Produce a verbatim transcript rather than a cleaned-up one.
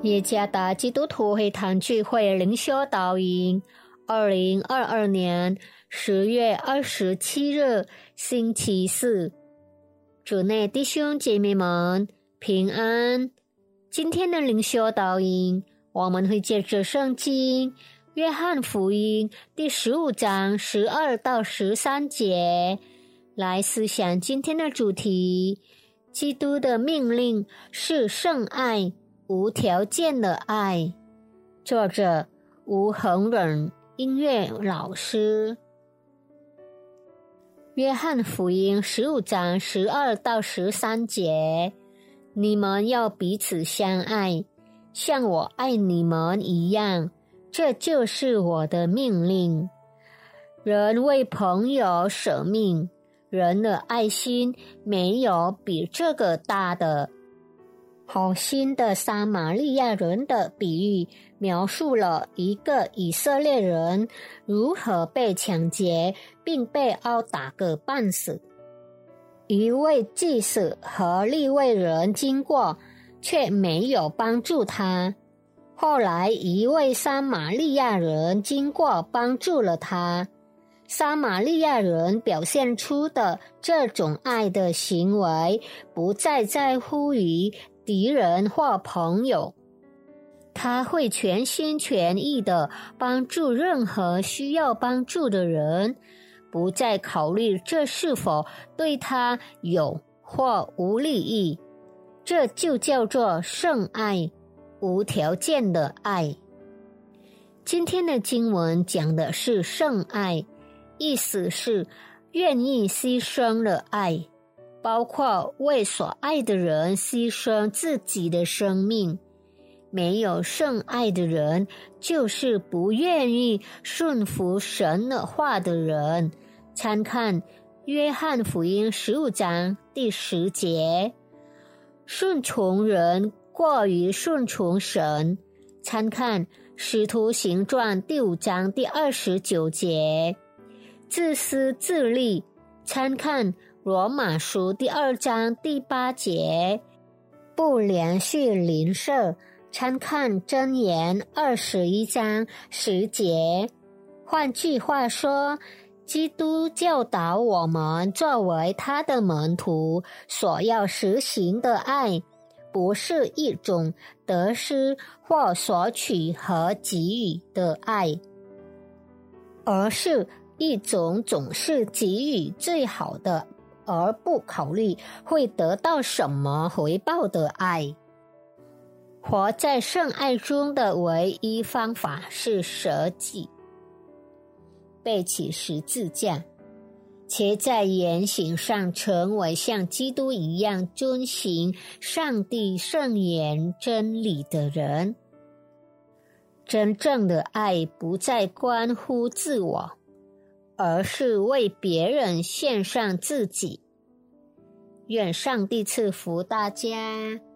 耶加达基督徒会堂聚会灵修导引，二零二二年十月二十七日星期四，主内弟兄姐妹们平安。今天的灵修导引，我们会借着圣经约翰福音第十五章十二到十三节来思想今天的主题：基督的命令是圣爱，无条件的爱。作者吴恒忍音乐老师。约翰福音十五章十二到十三节，你们要彼此相爱，像我爱你们一样，这就是我的命令。人为朋友舍命，人的爱心没有比这个大的。好心的撒玛利亚人的比喻描述了一个以色列人如何被抢劫并被殴打个半死。一位祭司和利未人经过，却没有帮助他。后来一位撒玛利亚人经过，帮助了他。撒玛利亚人表现出的这种爱的行为，不再在乎于敌人或朋友，他会全心全意地帮助任何需要帮助的人，不再考虑这是否对他有或无利益。这就叫做圣爱，无条件的爱。今天的经文讲的是圣爱，意思是愿意牺牲的爱，包括为所爱的人牺牲自己的生命。没有圣爱的人，就是不愿意顺服神的话的人。参看约翰福音十五章第十节。顺从人过于顺从神。参看使徒行传第五章第二十九节。自私自利。参看罗马书第二章第八节。不连续邻舍。参看箴言二十一章十节。换句话说，基督教导我们作为他的门徒所要实行的爱，不是一种得失或索取和给予的爱，而是一种总是给予最好的，而不考虑会得到什么回报的爱。活在圣爱中的唯一方法是舍己，背起十字架，且在言行上成为像基督一样遵行上帝圣言真理的人。真正的爱不再关乎自我，而是为别人献上自己。愿上帝赐福大家。